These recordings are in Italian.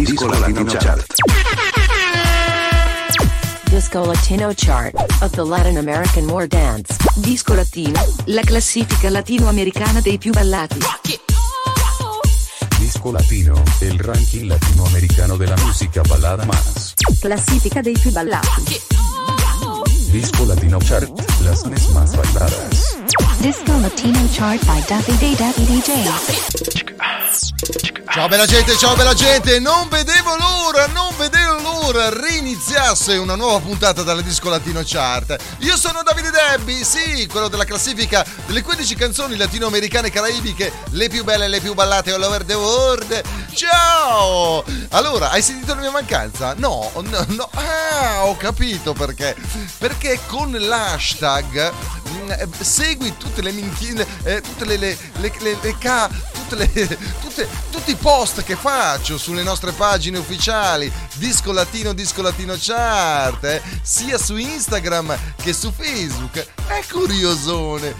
Disco Latino Chart. Disco Latino Chart of the Latin American More Dance. Disco Latino, la classifica latinoamericana dei più ballati. Disco Latino, el ranking latinoamericano de la música balada más. Classifica dei più ballati. Disco Latino Chart, las más bailadas. Disco Latino Chart by Daffy DJ. Ciao bella gente, non vedevo l'ora riniziasse una nuova puntata dalla Disco Latino Chart. Io sono Davide Debbi, sì, quello della classifica delle 15 canzoni latinoamericane e caraibiche, le più belle e le più ballate all over the world. Ciao! Allora, hai sentito la mia mancanza? No, ho capito perché. Perché con l'hashtag segui tutte le minchine, tutti i post che faccio sulle nostre pagine ufficiali Disco Latino Chart, sia su Instagram che su Facebook. È curiosona.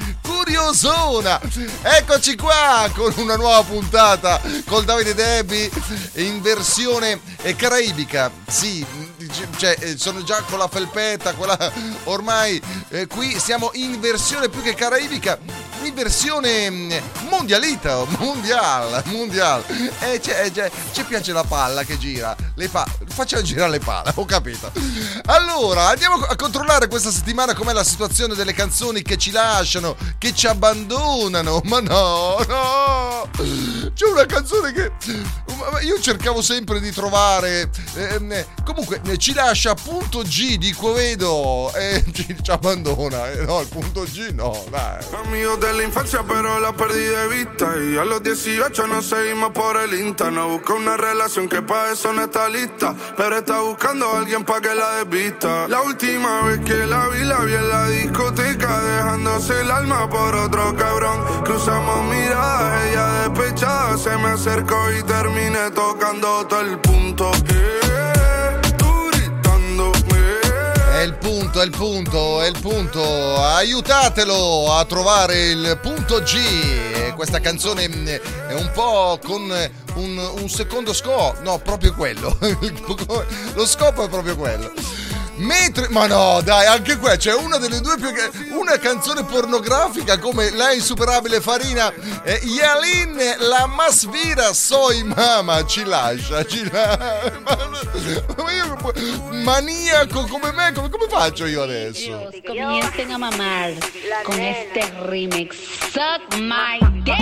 Eccoci qua con una nuova puntata col Davide Debbi in versione caraibica. Sì, cioè sono già con la felpetta, quella ormai qui siamo in versione più che caraibica, in versione mondiale. Ci piace la palla che gira, facciamo girare le palle, ho capito. Allora, andiamo a controllare questa settimana com'è la situazione delle canzoni che ci lasciano, che ci abbandonano. Ma no, c'è una canzone che io cercavo sempre di trovare, comunque ci lascia punto G di Quevedo e ci abbandona, no, il punto G no, dai. Amigos de la infancia pero la perdí de vista y a los 18 nos seguimos por el Insta. No busca una relación que pa' eso no está lista, pero está buscando a alguien pa' que la desvista. La última vez que la vi en la discoteca, dejándose el alma por otro cabrón. Cruzamos miradas, ella despechada se me acercó y terminé tocando todo el punto. Tú gritándome. È il punto, aiutatelo a trovare il punto G. Questa canzone è un po' con un secondo scopo, no, proprio quello. Lo scopo è proprio quello. Ma no, dai, anche qua c'è una delle due una canzone pornografica come La Insuperabile Farina, Yalin, la más vira soy mama, ci lascia. Ma io, maniaco come me, come faccio io adesso? Comiencen a mamar con este remix. Suck my dick.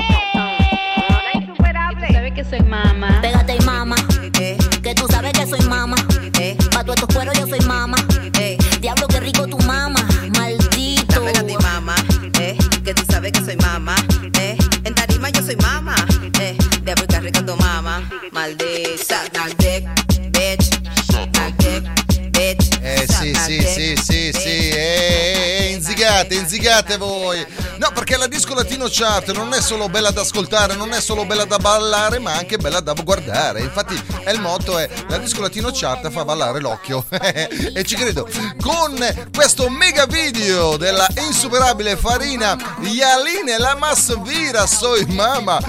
¿Sabes que soy mama? Pégate y mama, que tú sabes que soy mama. Pa' todos estos cueros yo soy mama. Diablo, qué rico tu mama, maldito. Pégate y mama, que tú sabes que soy mama. En tarima yo soy mama. Diablo, qué rico tu mama, maldita. Suck dick, bitch. Suck dick, bitch. Sì, inzigate voi. No, perché la Disco Latino Chart non è solo bella da ascoltare, non è solo bella da ballare, ma anche bella da guardare. Infatti il motto è la Disco Latino Chart fa ballare l'occhio. E ci credo. Con questo mega video della Insuperabile Farina, Yalin, la más vira soy mama.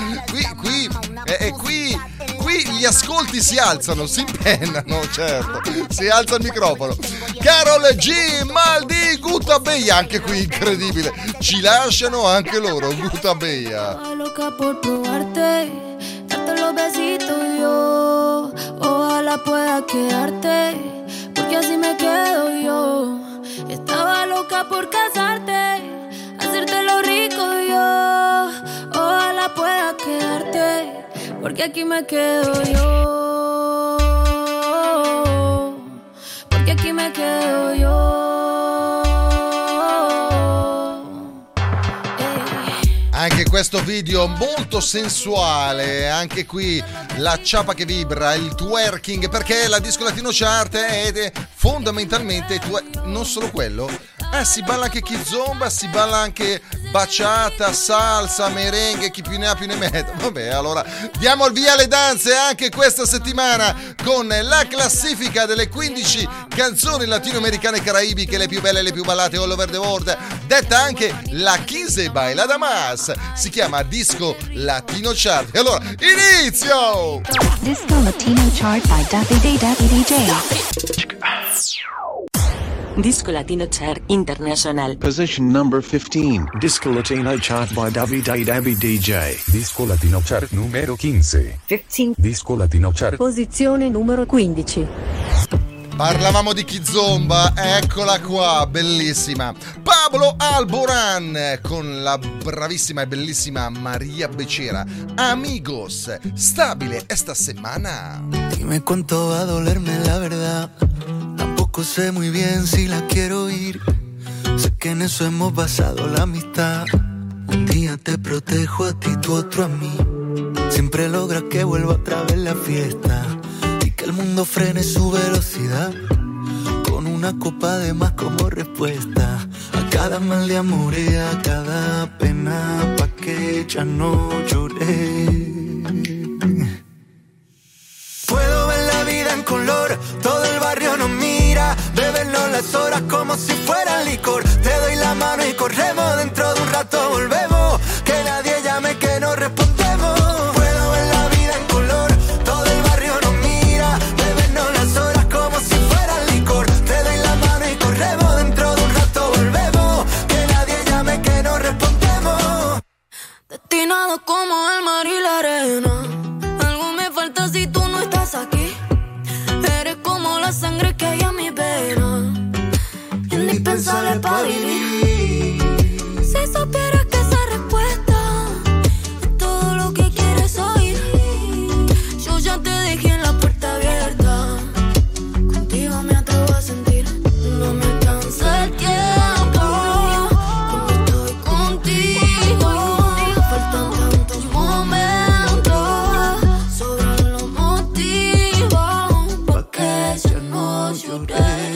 Qui gli ascolti si alzano, si impennano, certo, si alza il microfono. Karol G, Maldi, Gutabella, anche qui incredibile, ci lasciano anche loro, Gutabella. Loca por probarte, darte los besitos yo, ojalá pueda quedarte, porque así me quedo yo. Estaba loca por casarte, hacerte lo rico yo, ojalá pueda quedarte, porque aquí me quedo yo, porque aquí me quedo yo. Anche questo video molto sensuale, anche qui la ciapa che vibra, il twerking, perché la Disco Latino Chart è fondamentalmente non solo quello. Si balla anche kizomba, si balla anche baciata, salsa, merengue, chi più ne ha più ne metta. Vabbè, allora diamo il via alle danze anche questa settimana con la classifica delle 15 canzoni latinoamericane e caraibiche, le più belle e le più ballate all over the world, detta anche la Quince Baila Damas. Si chiama Disco Latino Chart. E allora, inizio! Disco Latino Chart by Davide DJ. Disco Latino Chart International. Position number 15. Disco Latino Chart by Davide DJ. Disco Latino Chart numero 15. 15. Disco Latino Chart. Posizione numero 15. Parlavamo di Kizomba, eccola qua, bellissima. Pablo Alborán con la bravissima e bellissima María Becerra. Amigos, stabile esta semana. Dime cuánto va a dolerme la verdad. Tampoco sé muy bien si la quiero oír. Sé que en eso hemos basado la amistad. Un día te protejo a ti, tú otro a mí. Siempre logras que vuelva otra vez la fiesta. Que el mundo frene su velocidad con una copa de más como respuesta a cada mal de amor y a cada pena, pa' que ya no lloré. Puedo ver la vida en color, todo el barrio nos mira, bebernos las horas como si fuera licor. Te doy la mano y corremos, dentro de un rato volvemos, que nadie llame que no respondemos. Puedo ver la vida en color, todo el barrio nos mira, bebernos las horas como si fuera licor. Te doy la mano y corremos, dentro de un rato volvemos, que nadie llame que no respondemos. Destinado como el mar y la arena, algo me falta si tú no estás aquí. Eres como la sangre que hay en mi vena, indispensable para vivir. Si supieras que esa respuesta es todo lo que quieres oír. Yo ya te dejé en la puerta abierta, contigo me atrevo a sentir. No me alcanza el tiempo cuando estoy contigo. Faltan tantos momentos, sobran los motivos pa' que ya no lloré.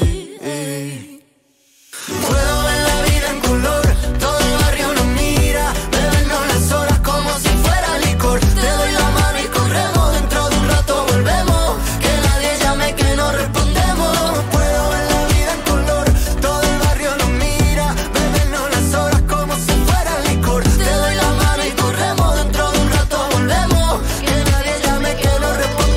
Puedo ver la vida en color, todo el barrio nos mira, bebernos las horas como si fuera licor. Te doy la mano y corremos, dentro de un rato volvemos, que nadie llame que no respondemos. Puedo ver la vida en color, todo el barrio nos mira, bebernos las horas como si fuera licor. Te doy la mano y corremos, dentro de un rato volvemos, que nadie llame que no respondemos.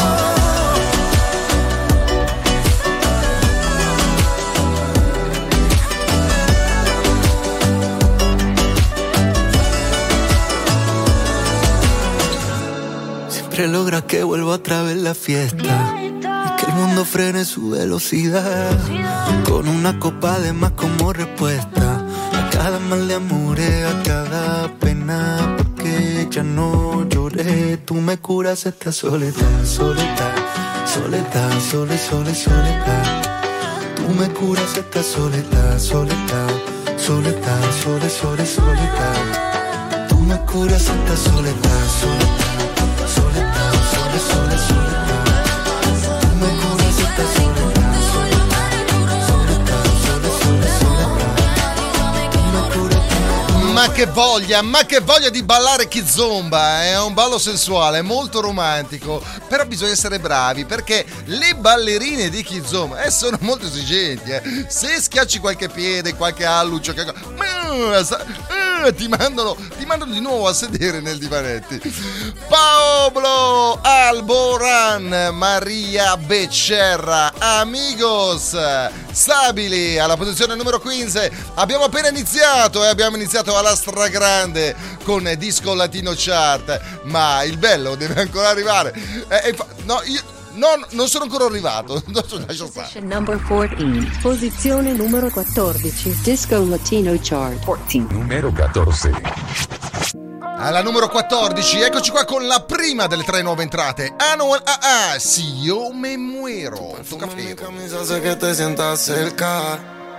Siempre logra que vuelva otra vez la fiesta y que el mundo frene su velocidad con una copa de más como respuesta a cada mal de amores, a cada pena, porque ya no lloré. Tú me curas esta soledad, soledad, soledad, soledad. Tú me curas esta soledad, soledad, soledad, soledad. Tú me curas esta soledad, soledad. Soledad, soledad, soledad. Tú me curas esta soledad, soledad, soledad, soledad. Tú me curas. Ma che voglia di ballare Kizomba, è un ballo sensuale, molto romantico, però bisogna essere bravi perché le ballerine di Kizomba sono molto esigenti, se schiacci qualche piede, qualche alluccio, ti mandano di nuovo a sedere nel divanetti. Pablo Alborán, María Becerra, Amigos, stabili alla posizione numero 15. Abbiamo appena iniziato e abbiamo iniziato alla stragrande con Disco Latino Chart, ma il bello deve ancora arrivare. No, io non sono ancora arrivato. Lascia stare. Number 14. Posizione numero 14. Disco Latino Chart 14. Numero 14. Alla numero 14, eccoci qua con la prima delle tre nuove entrate. Anuel AA, Si Yo Me Muero. Mi camisa hace que te sientas cerca.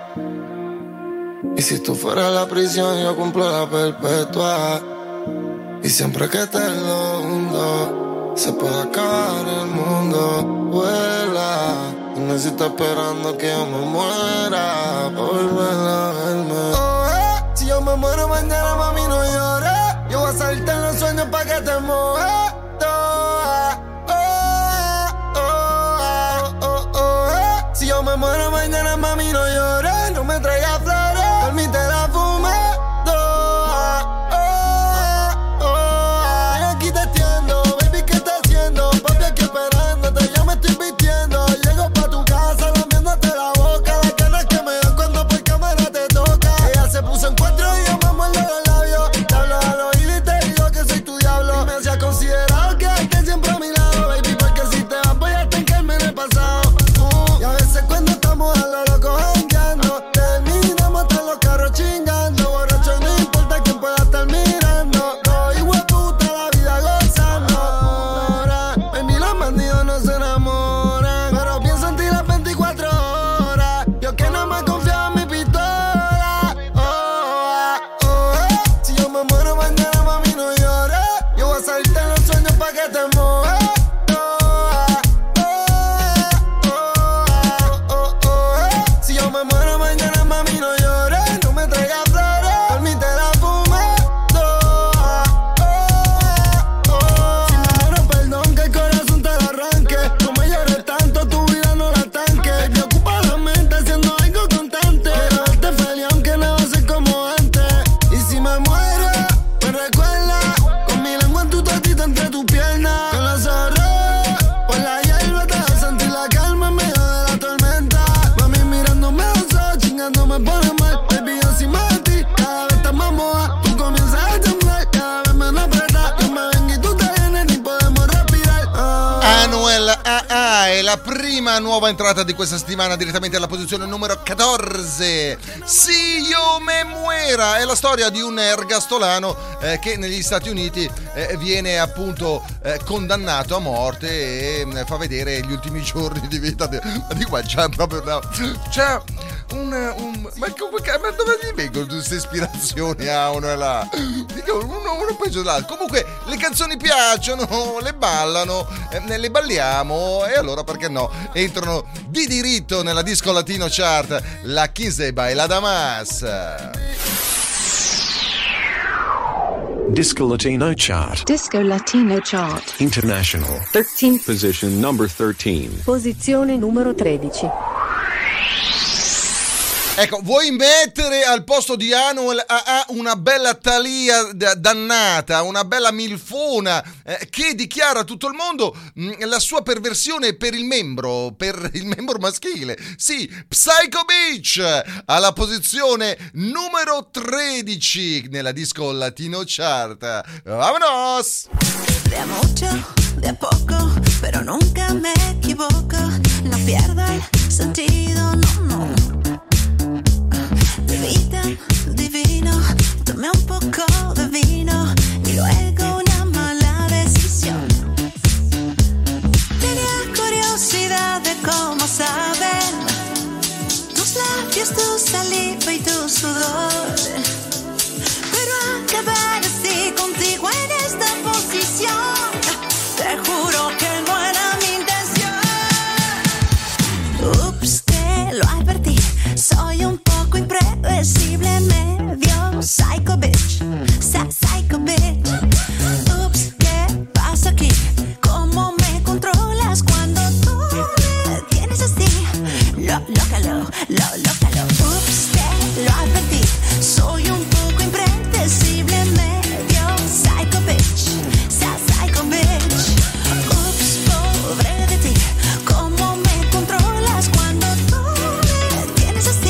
Y si tú fueras la prisión, yo cumplo la perpetua. Y siempre que te lo hundo, se puede acabar el mundo. Vuela, y no si está esperando que yo me muera, volver a verme. Oh, si yo me me muero mañana, mami, no llores. Yo voy a salirte en los sueños pa' que te muevas. Si yo me muero mañana, mami, no llores. No me traigas flores, por mí te la fumé. Aquí te atiendo, baby, ¿qué estás haciendo? Papi, aquí esperándote, ya me estoy vistiendo. Llego pa' tu casa, lamiéndote la boca. Las ganas que me dan cuando por cámara te toca. Ella se puso en cuatro y yo me muerdo los labios. Te hablo al oído y te digo que soy tu diablo. Y me hacía considerado que estés siempre a mi lado, baby, porque si te vas voy a estancarme en el pasado. Y a veces cuando estamos a lo loco jangueando, terminamos hasta los carros chingando. Borracho, no importa quién pueda estar mirando. No, hijo de puta, la vida gozando. Ahora, ven y los bandidos no se enamoran, pero pienso en ti las 24 horas. Yo que no me confiaba en mi pistola. Si yo me muero mañana, mami, no llores. Yo voy a salirte en los sueños pa' que te muevas. Si yo me muero mañana, mami, no llores. No me traigas flores, por mí te la fumé. Si me muero, perdón, que el corazón te lo arranque. No me llores tanto, tu vida no la tanque. Me ocupa la mente haciendo algo constante. Quiero verte feliz aunque no va a ser como antes. Y si me muero, me recuerda con mi lengua en tu totito entre tus piernas. Con los ojos por la hierba te vas a sentir la calma en medio de la tormenta. Mami mirándome a los ojos, chingando me pone mal. Baby, yo encima de ti, cada vez estás más moja. Tú comienzas a temblar, cada vez menos apretas. Yo me vengo y tú te vienes, ni podemos respirar. Anuel AA è la prima nuova entrata di questa settimana direttamente alla posizione numero 14. Si io me muera è la storia di un ergastolano che negli Stati Uniti viene appunto condannato a morte e fa vedere gli ultimi giorni di vita di qua. C'è proprio ma dove gli vengono queste ispirazioni a uno e là? Uno peggio dell'altro. Comunque le canzoni piacciono, le ballano, le balliamo, e allora perché no? Entrano di diritto nella disco latino chart la 15 Baila Damas. Disco Latino Chart. Disco Latino Chart. International. 13. Position number 13. Posizione numero 13. Ecco, vuoi mettere al posto di Anuel AA una bella Thalia dannata, una bella milfona che dichiara a tutto il mondo la sua perversione per il membro maschile. Sì, Psycho Beach alla posizione numero 13 nella disco latino chart. Vámonos! De a mucho, de a poco, pero nunca me equivoco. No pierdo el sentido, no. Vida divino, tomé un poco de vino y luego una mala decisión. Tenía curiosidad de cómo saben tus labios, tu saliva y tu sudor, pero acabar así contigo en esta posición, te juro que no era mi intención. Ups, que lo advertí, soy un poco impredecible, medio psycho bitch, psycho bitch. Ups, ¿qué pasa aquí? ¿Cómo me controlas cuando tú me tienes así? Lócalo. Ups, te lo advertí, soy un poco impredecible, medio psycho bitch, psycho bitch. Ups, pobre de ti, ¿cómo me controlas cuando tú me tienes así?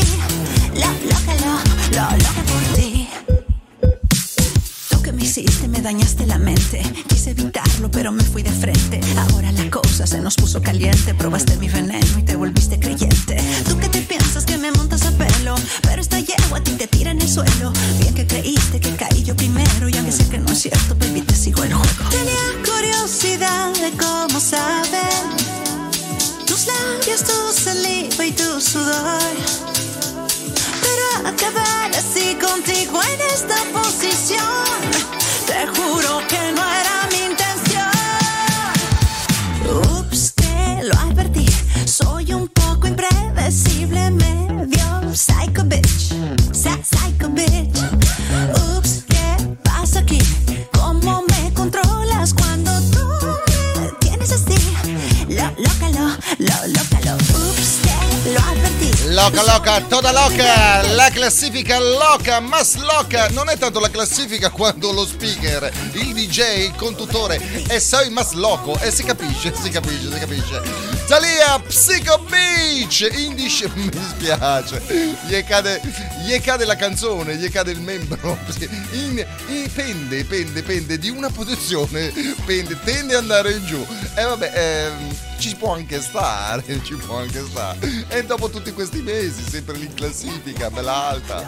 Lo loca por ti. Tú que me hiciste, me dañaste la mente. Quise evitarlo, pero me fui de frente. Ahora la cosa se nos puso caliente. Probaste mi veneno y te volviste creyente. Tú que te piensas que me montas a pelo, pero esta yegua a ti te tira en el suelo. Bien que creíste que caí yo primero, y aunque sé que no es cierto, baby, te sigo el juego. Tenía curiosidad de cómo saben tus labios, tu saliva y tu sudor, pero acabar así contigo en esta posición, te juro que no era mi intención. Ups, te lo advertí, soy un poco impredecible, medio psycho bitch, psycho bitch. Lo advertí. Loca, toda loca, la classifica loca, mas loca. Non è tanto la classifica quando lo speaker, il DJ, il conduttore è sei mas loco. E si capisce. Thalia, Psycho Beach, Indish, mi dispiace. Gli cade la canzone, gli cade il membro. Pende di una posizione, tende ad andare in giù. E vabbè, ci può anche stare. E dopo tutti questi mesi, sempre lì in classifica, bella alta.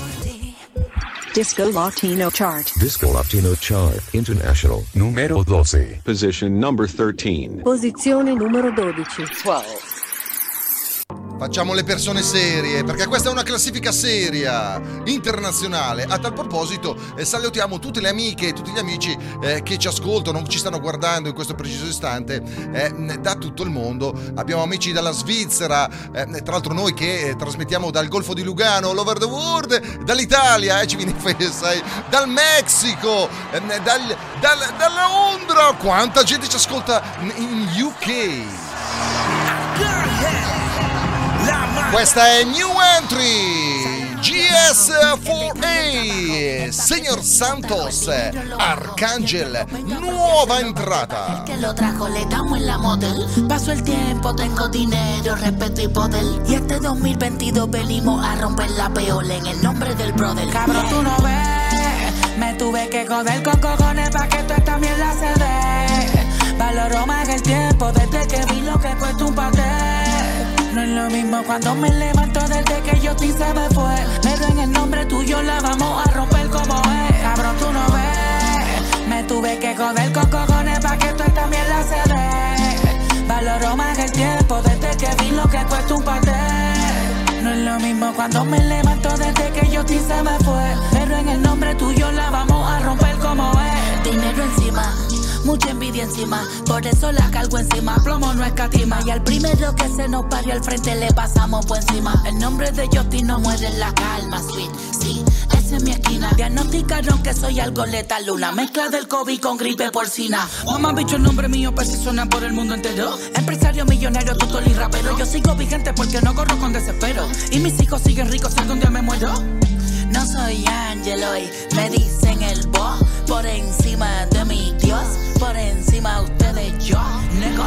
Disco Latino Chart. Disco Latino Chart International numero 12. Position number 13. Posizione numero 12. 12. Facciamo le persone serie, perché questa è una classifica seria, internazionale. A tal proposito salutiamo tutte le amiche e tutti gli amici che ci ascoltano, ci stanno guardando in questo preciso istante da tutto il mondo. Abbiamo amici dalla Svizzera, tra l'altro noi che trasmettiamo dal Golfo di Lugano, all over the world, dall'Italia, ci viene sai, dal Messico, dalla Londra. Quanta gente ci ascolta in UK. Questa è New Entry GS4A, Señor Santos, Arcángel, nuova entrata. Que lo trajo, le damos en la model. Paso el tiempo, tengo dinero, respeto y poder. Y este 2022 venimos a romper la peola en el nombre del brother. Cabrón, tú no ves, me tuve que joder con cojones pa' que toda esta mierda se dé. Valoro más el tiempo desde que vi lo que cuesta un pastel. No es lo mismo cuando me levanto desde que Justin se me fue. Pero en el nombre tuyo la vamos a romper como es. Cabrón, tú no ves, me tuve que joder con cojones pa' que toda esta mierda se dé. Valoro más el tiempo desde que vi lo que cuesta un pastel. No es lo mismo cuando me levanto desde que Justin se me fue. Pero en el nombre tuyo la vamos a romper como es. Dinero encima, mucha envidia encima, por eso la cargo encima. Plomo no escatima y al primero que se nos pare al frente le pasamos por encima. El nombre de Justin no muere en la calma, sweet, sí, esa es mi esquina. Diagnosticaron que soy algo letal, una mezcla del COVID con gripe porcina. Mamá, bicho, el nombre mío pues suena por el mundo entero. Empresario, millonario, tutor y rapero. Yo sigo vigente porque no corro con desespero. Y mis hijos siguen ricos si algún día me muero. No soy ángel hoy, me dicen el boss. Por encima de mi Dios, por encima ustedes yo, nego.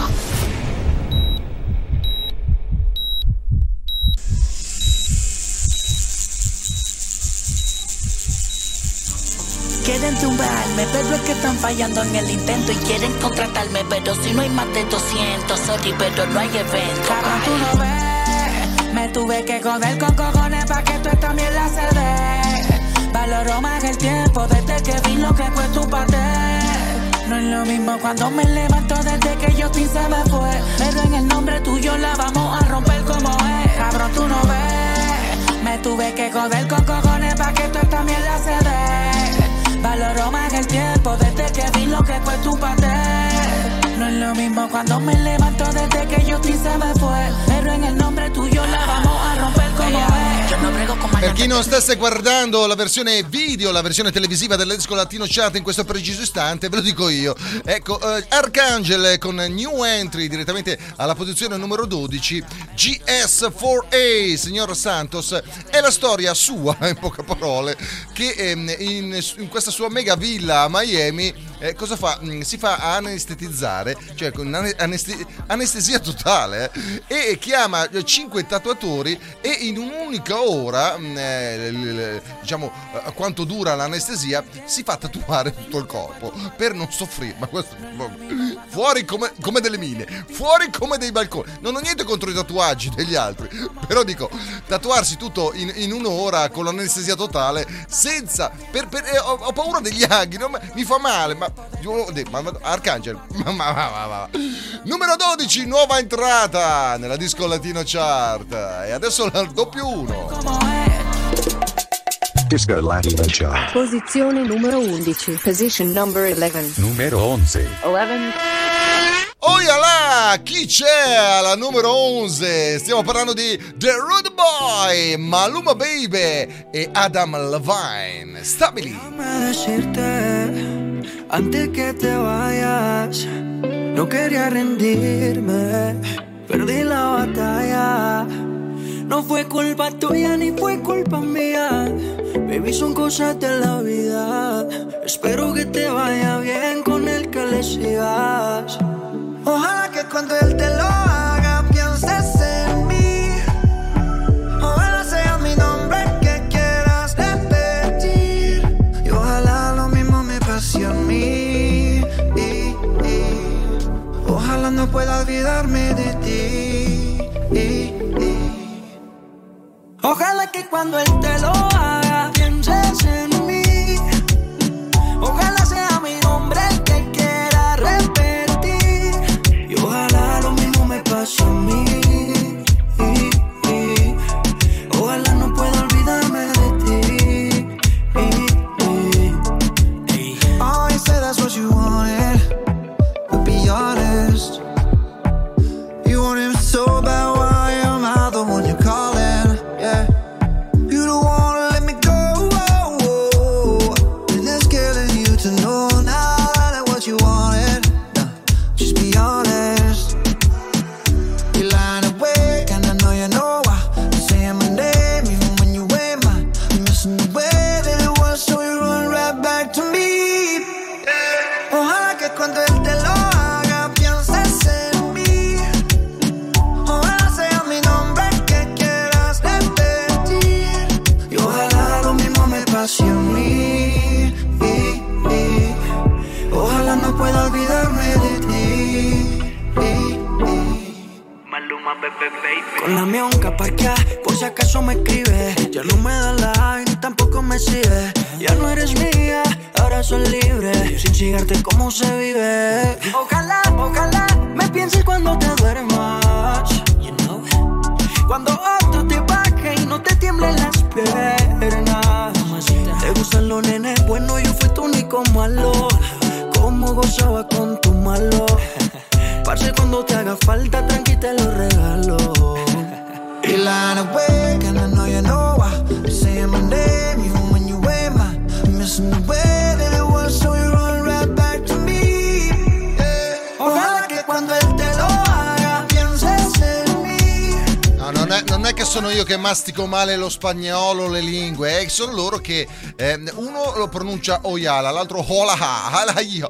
Quieren tumbarme, pero es que están fallando en el intento. Y quieren contratarme, pero si no hay más de 200, sorry, pero no hay evento. Cabrón, tú no ves, me tuve que joder con cojones pa' que toda esta mierda se dé. Valoro más el tiempo desde que vi lo que cuesta un pastel. No es lo mismo cuando me levanto desde que Justin se me fue. Pero en el nombre tuyo la vamos a romper como es. Cabrón, tú no ves, me tuve que joder con cojones pa' que toda esta mierda se dé. Valoro más el tiempo desde que vi lo que cuesta un pastel. No es lo mismo cuando me levanto desde que Justin se me fue. Pero en el nombre tuyo la vamos a romper como es. Yo no brego con Per chi non stesse guardando la versione video, la versione televisiva del Disco Latino Chart in questo preciso istante, ve lo dico io. Ecco, Arcángel con New Entry direttamente alla posizione numero 12, GS4A, Señor Santos. È la storia sua, in poche parole, che in questa sua mega villa a Miami cosa fa? Si fa anestetizzare, cioè con anestesia totale, e chiama 5 tatuatori e in un'unica ora, diciamo quanto dura l'anestesia, si fa tatuare tutto il corpo per non soffrire. Ma questo, fuori come delle mine, fuori come dei balconi. Non ho niente contro i tatuaggi degli altri, però dico, tatuarsi tutto in un'ora con l'anestesia totale senza ho paura degli aghi, no? Mi fa male, ma Arcángel, numero 12, nuova entrata nella Disco Latino Chart, e adesso la doppio 1. Disco Latino Chart. Posizione numero 11. Position number 11. Numero 11. 11. Oiala, chi c'è alla numero 11? Stiamo parlando di The Rude Boy, Maluma Baby e Adam Levine. Stabili. Déjame decirte, antes que te vayas, no quería rendirme, perdí la batalla. No fue culpa tuya ni fue culpa mía. Baby, son cosas de la vida. Espero que te vaya bien con el que le sigas. Ojalá que cuando él te lo haga pienses en mí. Ojalá sea mi nombre que quieras repetir. Y ojalá lo mismo me pase a mí. Ojalá no pueda olvidarme de ti. Ojalá que cuando él te lo haga pienses en mí. Ojalá sea mi nombre el que quiera repetir. Y ojalá lo mismo me pase a mí. Ojalá no pueda olvidarme de ti. Oh, you said that's what you wanted, but be honest. You want him so bad, why am I the one you're calling? Yeah. You don't wanna let me go, and it's killing you to know now that what you wanted. No, just be honest. You're lying awake, and I know you know why. You're saying my name even when you ain't mine. You're missing the way that it was, so you run right back to me. Ojalá que cuando él te lo haga pienses en mí. Ojalá sea mi nombre que quieras repetir. Y ojalá lo mismo me pase a mí. Ojalá no pueda olvidarme de ti. Maluma, bebé, baby. Con la mionca parqueada, por si acaso me escribe. Ya no me da like, ni tampoco me sigue. Ya no eres mía, ahora soy libre. Sin chingarte cómo se vive. Ojalá, ojalá me pienses cuando te duermas. You know? Cuando otro te baje y no te tiemblen las piernas. Te gustan los nenes, bueno, yo fui tu único malo. Cómo gozaba con tu malo. Parce, cuando te haga falta, tranqui te lo regalo. You're lying awake, and I know you know why. You're saying my name, even when you ain't mine. You're missing the way that it was, so you run right back to me. Ojalá que cuando él te lo haga, pienses en mí. No, non è che sono io che mastico male lo spagnolo, le lingue, sono loro che uno lo pronuncia Oyala, l'altro Holaha,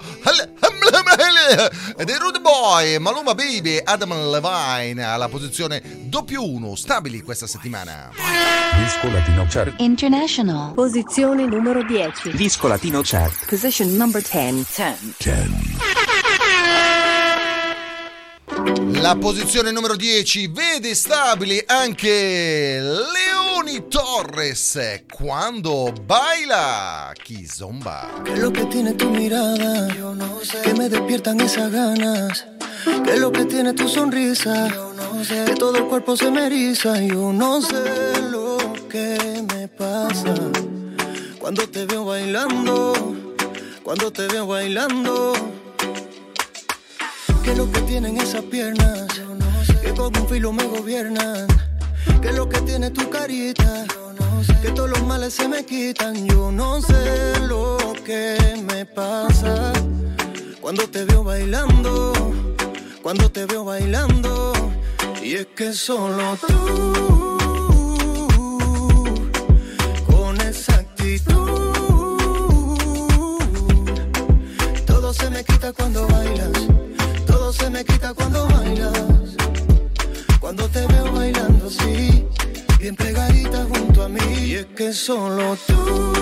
ed è Rude Boy, Maluma Baby, Adam Levine alla posizione +1, stabili questa settimana. Disco Latino Chart International. Posizione numero 10. Disco Latino Chart. Position number 10. La posizione numero 10 vede stabili anche Leoni Torres, Cuando baila Kizomba. ¿Qué es lo que tiene tu mirada? Yo no sé. Que me despiertan esas ganas. ¿Qué es lo que tiene tu sonrisa? Yo no sé. Que todo el cuerpo se me eriza. Yo no sé lo que me pasa cuando te veo bailando. Cuando te veo bailando. ¿Qué es lo que tienen esas piernas? Yo no sé. Que con un filo me gobiernan. ¿Qué es lo que tiene tu carita? Yo no sé. Que todos los males se me quitan. Yo no sé lo que me pasa cuando te veo bailando. Cuando te veo bailando. Y es que solo tú, con esa actitud, todo se me quita cuando bailas. Todo se me quita cuando bailas. Cuando te veo bailando así, bien pegadita junto a mí. Y es que solo tú,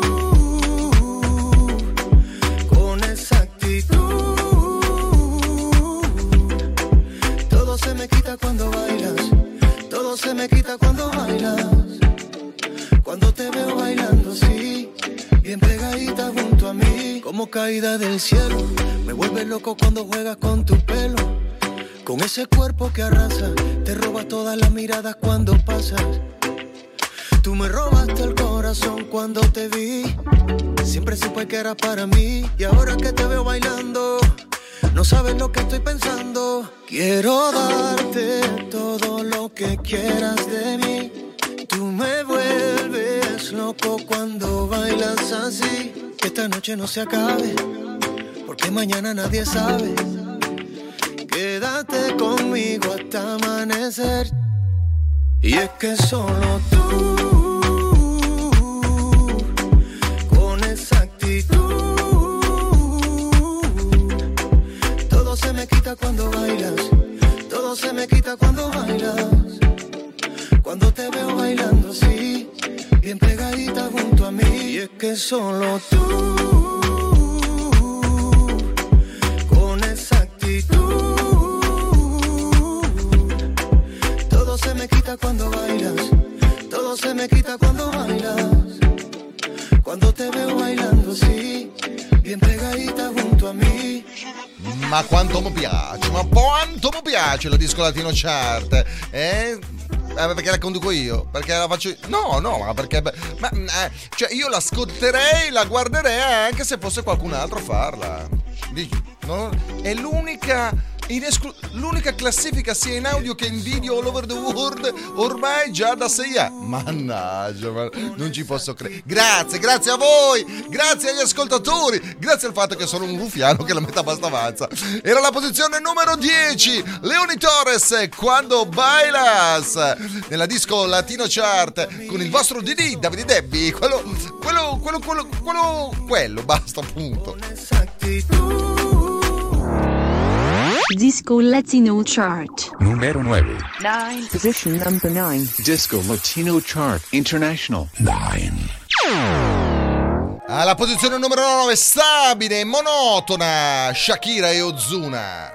con esa actitud, todo se me quita cuando bailas. Todo se me quita cuando bailas. Cuando te veo bailando así, bien pegadita junto a mí. Como caída del cielo, me vuelves loco cuando juegas con tu pelo. Con ese cuerpo que arrasa, te roba todas las miradas cuando pasas. Tú me robaste el corazón cuando te vi. Siempre supe que era para mí. Y ahora que te veo bailando, no sabes lo que estoy pensando. Quiero darte todo lo que quieras de mí. Tú me vuelves loco cuando bailas así. Que esta noche no se acabe, porque mañana nadie sabe. Quédate conmigo conmigo hasta amanecer. Y es que solo tú, con esa actitud, todo se me quita cuando bailas, todo se me quita cuando bailas. Cuando te veo bailando así, bien pegadita junto a mí. Y es que solo tú, con esa actitud, todo se me quita cuando bailas, todo se me quita cuando bailas. Cuando te veo bailando así, bien pegadita junto a mí. Ma quanto mi piace la Disco Latino Chart, perché la conduco io? Perché la faccio io? No, ma perché cioè io l'ascolterei, la guarderei anche se fosse qualcun altro a farla. No? È l'unica classifica sia in audio che in video all over the world ormai già da 6 anni. Mannaggia, non ci posso credere. Grazie a voi, grazie agli ascoltatori, grazie al fatto che sono un ruffiano che la metà basta avanza. Era la posizione numero 10, Leoni Torres, Quando Bailas, nella Disco Latino Chart con il vostro DD Davide Debbi, quello, basta, appunto. Disco Latino Chart. Numero 9. 9. Position number 9. Disco Latino Chart International 9. Alla posizione numero 9, stabile e monotona, Shakira e Ozuna.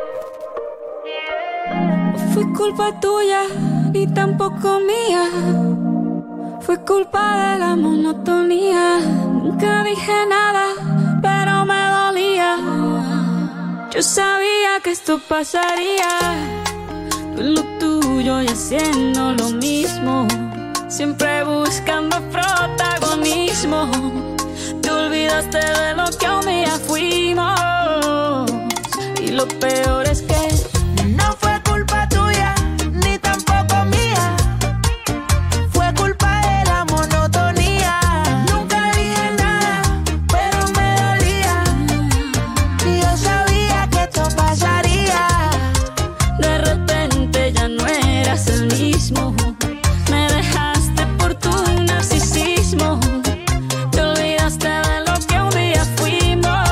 Fue culpa tuya, ni tampoco mía. Fue culpa de la monotonía. Nunca dije nada, pero me dolía. Yo sabía que esto pasaría. Tú en lo tuyo y haciendo lo mismo. Siempre buscando protagonismo. Te olvidaste de lo que un día fuimos. Y lo peor es que no fue culpa tuya, ni tampoco mía. Fue culpa de la monotonía. Nunca dije nada, pero me dolía. Y yo sabía que esto pasaría. De repente ya no eras el mismo. Me dejaste por tu narcisismo. Te olvidaste de lo que un día fuimos.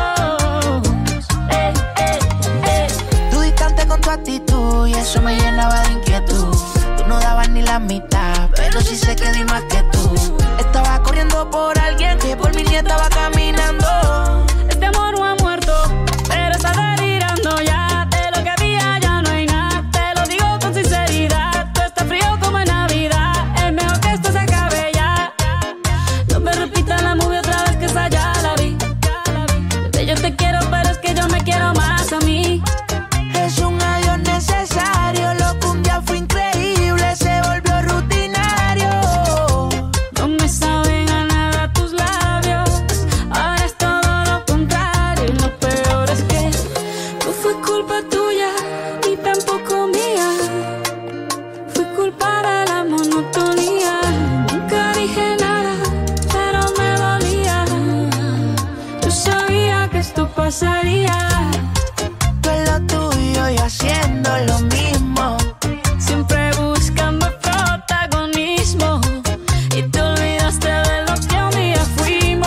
Tú distante con tu actitud y eso me llenaba de inquietud. Tú no dabas ni la mitad, pero sí sé que di más que tú. Estaba corriendo por alguien que por mi nieta va caminando. Este amor no ha muerto, pero está delirando ya. De lo que había ya no hay nada. Te lo digo con sinceridad. Tú estás frío como en Navidad. Es mejor que esto se acabe ya. No me repitas la movie otra vez, que esa ya la vi. Bebé, yo te quiero, pero es que yo me quiero más a mí. Es un adiós necesario. Lo que un día fue increíble se volvió rutinario. No me saben a nada tus labios. Ahora es todo lo contrario. Y lo peor es que no fue culpa tuya, ni tampoco mía. Fue culpa de la monotonía. Nunca dije nada, pero me dolía. Yo sabía que esto pasaría. Tú en lo tuyo y haciendo lo mismo. Siempre buscando protagonismo. Y te olvidaste de lo que un día fuimos.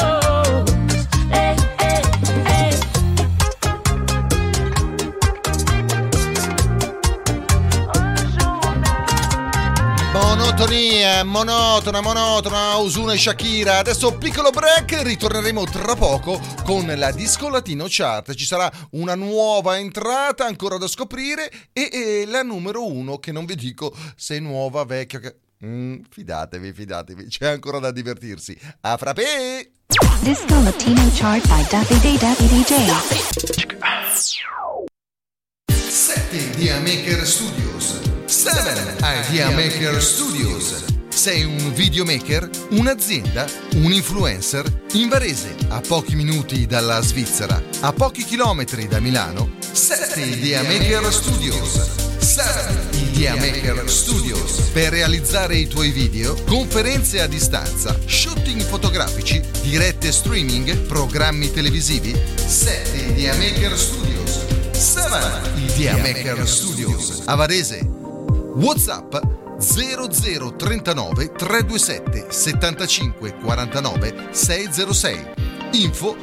Monotona, Ozuna e Shakira. Adesso piccolo break, ritorneremo tra poco con la Disco Latino Chart. Ci sarà una nuova entrata ancora da scoprire e la numero 1, che non vi dico se è nuova, vecchia. Fidatevi, c'è ancora da divertirsi. A frappè! Disco Latino Chart by Davide DJ. 7 Idea Maker Studios. 7 Idea Maker Studios. Sei un videomaker, un'azienda, un influencer? In Varese, a pochi minuti dalla Svizzera, a pochi chilometri da Milano, 7 Idea Maker Studios. 7 Idea Maker Studios. Per realizzare i tuoi video, conferenze a distanza, shooting fotografici, dirette streaming, programmi televisivi. 7 Idea Maker Studios. Idea Maker Studios a Varese. WhatsApp 0039 327 75 49 606. Info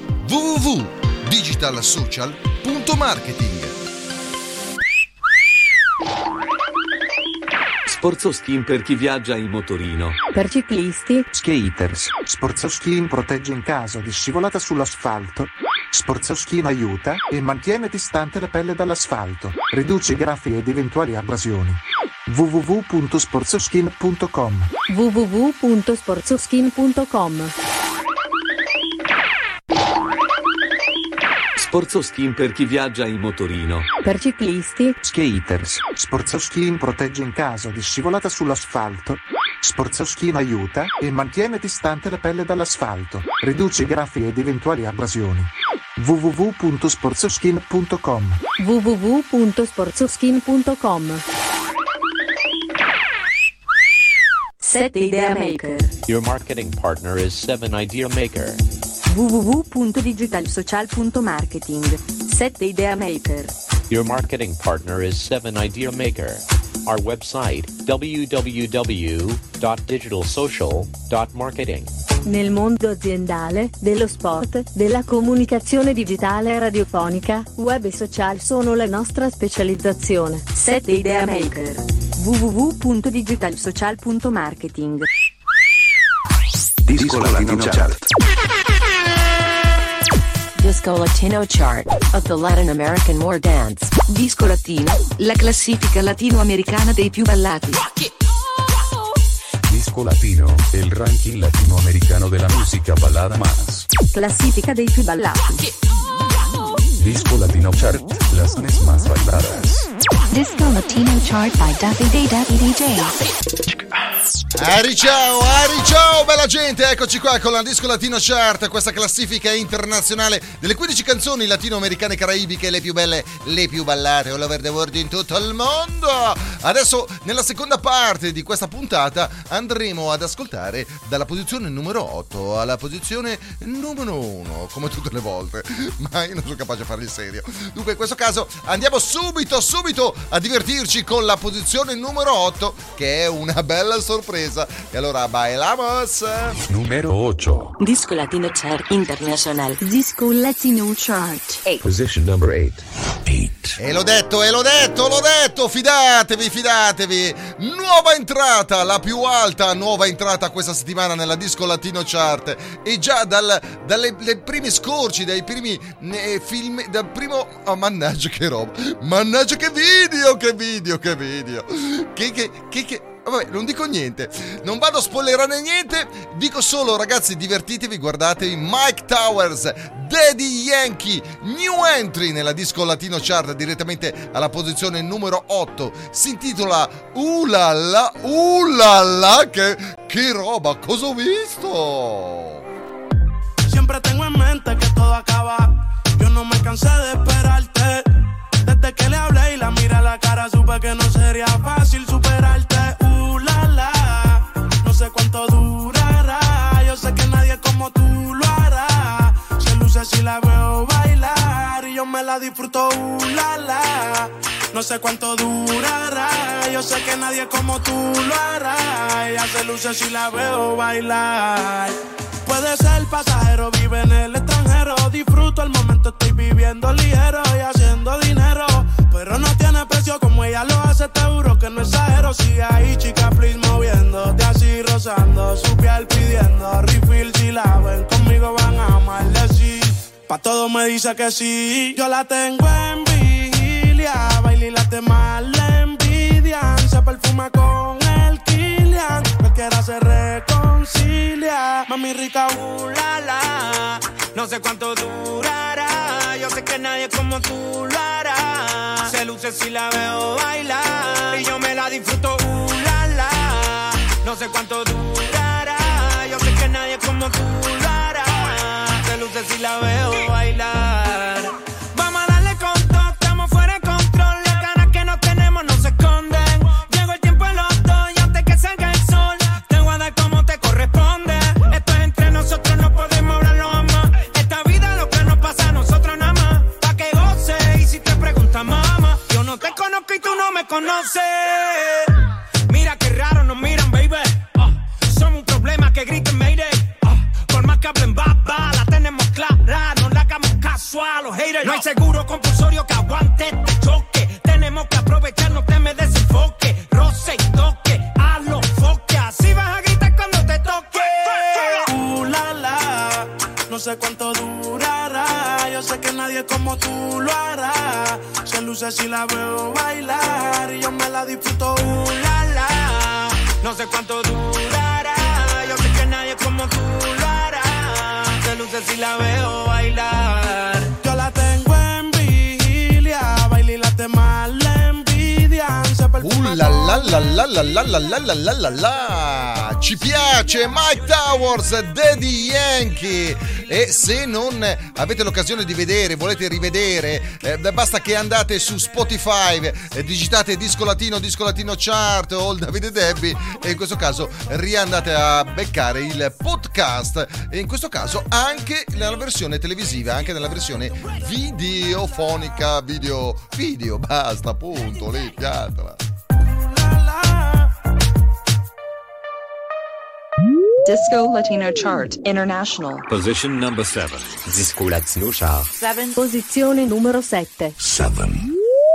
www.digitalsocial.marketing. Sportsoskin per chi viaggia in motorino. Per ciclisti. Skaters. Sportsoskin protegge in caso di scivolata sull'asfalto. Sportsoskin aiuta e mantiene distante la pelle dall'asfalto. Riduce graffi ed eventuali abrasioni. www.sportsoskin.com. www.sportsoskin.com. Sportsoskin per chi viaggia in motorino. Per ciclisti. Skaters. Sportsoskin protegge in caso di scivolata sull'asfalto. Sportsoskin aiuta e mantiene distante la pelle dall'asfalto. Riduce graffi ed eventuali abrasioni. www.sportsoskin.com. www.sportsoskin.com. 7 Idea Maker. Your marketing partner is 7 Idea Maker. www.digitalsocial.marketing. 7 Idea Maker. Your marketing partner is 7 Idea Maker. Our website www.digitalsocial.marketing. Nel mondo aziendale, dello sport, della comunicazione digitale e radiofonica, web e social sono la nostra specializzazione. 7 Idea Maker. www.digitalsocial.marketing. Disco Latino Chart. Disco Latino Chart of the Latin American More Dance. Disco Latino, la classifica latinoamericana dei più ballati. Disco Latino, el ranking latinoamericano de la música balada más. Classifica dei più ballati. Disco Latino Chart, las canciones más bailadas. Disco Latino Chart by Davide DJ. Ciao, bella gente, eccoci qua con la Disco Latino Chart, questa classifica internazionale delle 15 canzoni latinoamericane caraibiche, le più belle, le più ballate, all over the world, in tutto il mondo. Adesso, nella seconda parte di questa puntata, andremo ad ascoltare dalla posizione numero 8 alla posizione numero 1, come tutte le volte, ma io non sono capace di fare il serio. Dunque, in questo caso, andiamo subito a divertirci con la posizione numero 8, che è una bella sorpresa. E allora bailamos. Numero 8. Disco Latino Chart International. Disco Latino Chart. 8. Position number 8. E l'ho detto, fidatevi. Nuova entrata, la più alta nuova entrata questa settimana nella Disco Latino Chart. E già dai primi scorci, dai primi film, dal primo... Oh, mannaggia che roba. Mannaggia che video. Vabbè, non dico niente, non vado a spoilerare niente, dico solo, ragazzi, divertitevi, guardatevi Mike Towers, Daddy Yankee, new entry nella Disco Latino Chart, direttamente alla posizione numero 8, si intitola Ulala, che roba, cosa ho visto? Siempre tengo en mente que todo acaba, yo no me cansé de esperarte, desde que le hablé y la miré a la cara supe que no sería fácil superarte. No sé cuánto durará, yo sé que nadie como tú lo hará. Se luce si la veo bailar y yo me la disfruto, No sé cuánto durará, yo sé que nadie como tú lo hará. Ella se luce si la veo bailar. Puede ser pasajero, vive en el extranjero. Disfruto el momento, estoy viviendo ligero y haciendo dinero. Pero no tiene precio como ella lo hace, te juro que no exagero. Sigue ahí, chica, please, moviéndote así, rozando su piel, pidiendo refill. Si la ven conmigo van a maldecir. Pa' todo me dice que sí. Yo la tengo en vigilia, baila y las demás le envidian. Se perfuma con el Kilian, cualquiera se reconcilia. Mami rica, la. No sé cuánto durará, yo sé que nadie como tú lo hará. Se luce si la veo bailar y yo me la disfruto, la. No sé cuánto durará, yo sé que nadie como tú lo hará. Se luce si la veo bailar. Vamos a darle con todo, estamos fuera de control. Las ganas que no tenemos no se esconden. Llegó el tiempo de los dos y antes que salga el sol te voy a dar como te corresponde. Esto es entre nosotros, no podemos hablarlo jamás. Esta vida lo que nos pasa a nosotros nada más. Pa' que goce y si te preguntan conoce. Mira qué raro nos miran, baby. Somos un problema que griten Mayday. Por más que hablen baba, la tenemos clara. No le hagamos caso a los haters. No hay seguro compulsorio que aguante este choque. Tenemos que aprovechar, no te me desenfoque. Roce y toque, a los foques. Así vas a gritar cuando te toque. La la, no sé cuánto durará. Yo sé que nadie como tú lo hará. Se luce si la veo bailar y yo me la disfruto. La la, no sé cuánto durará. Yo sé que nadie como tú lo hará. Se luce si la veo bailar. Yo la tengo en vigilia, baila y la temas la envidian. La la la la la la la la la la la la. Ci piace Mike Towers, Daddy Yankee. E se non avete l'occasione di vedere, volete rivedere, basta che andate su Spotify, digitate Disco Latino Chart o il Davide Debbie, e in questo caso riandate a beccare il podcast, e in questo caso anche nella versione televisiva, anche nella versione videofonica, video, basta, punto, lì, piantala. Disco Latino Chart International. Position number 7. Disco Latino Chart. 7. Posizione numero 7. 7.